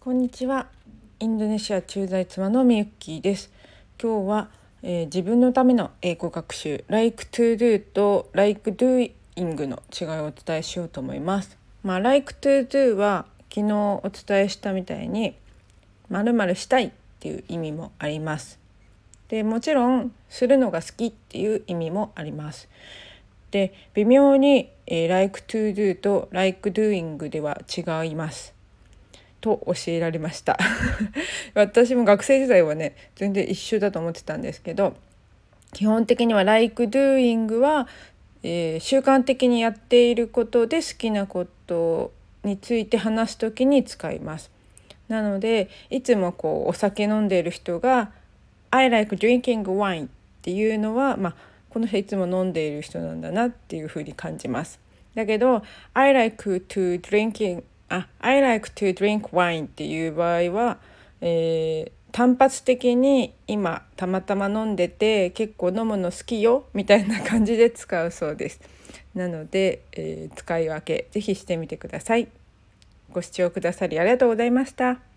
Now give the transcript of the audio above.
こんにちは。インドネシア駐在妻のみゆきです。今日は、自分のための英語学習 Like to do と Like doing の違いをお伝えしようと思います。Like to do は昨日お伝えしたみたいに〇〇したいっていう意味もあります。でもちろんするのが好きっていう意味もあります。で微妙に、Like to do と Like doing では違いますと教えられました私も学生時代はね全然一緒だと思ってたんですけど、基本的には Like doing は、習慣的にやっていることで好きなことについて話すときに使います。なのでいつもお酒飲んでいる人が I like drinking wine っていうのは、この人いつも飲んでいる人なんだなっていうふうに感じます。だけど I like to drink wine っていう場合は、単発的に今たまたま飲んでて結構飲むの好きよみたいな感じで使うそうです。なので、使い分けぜひしてみてください。ご視聴くださりありがとうございました。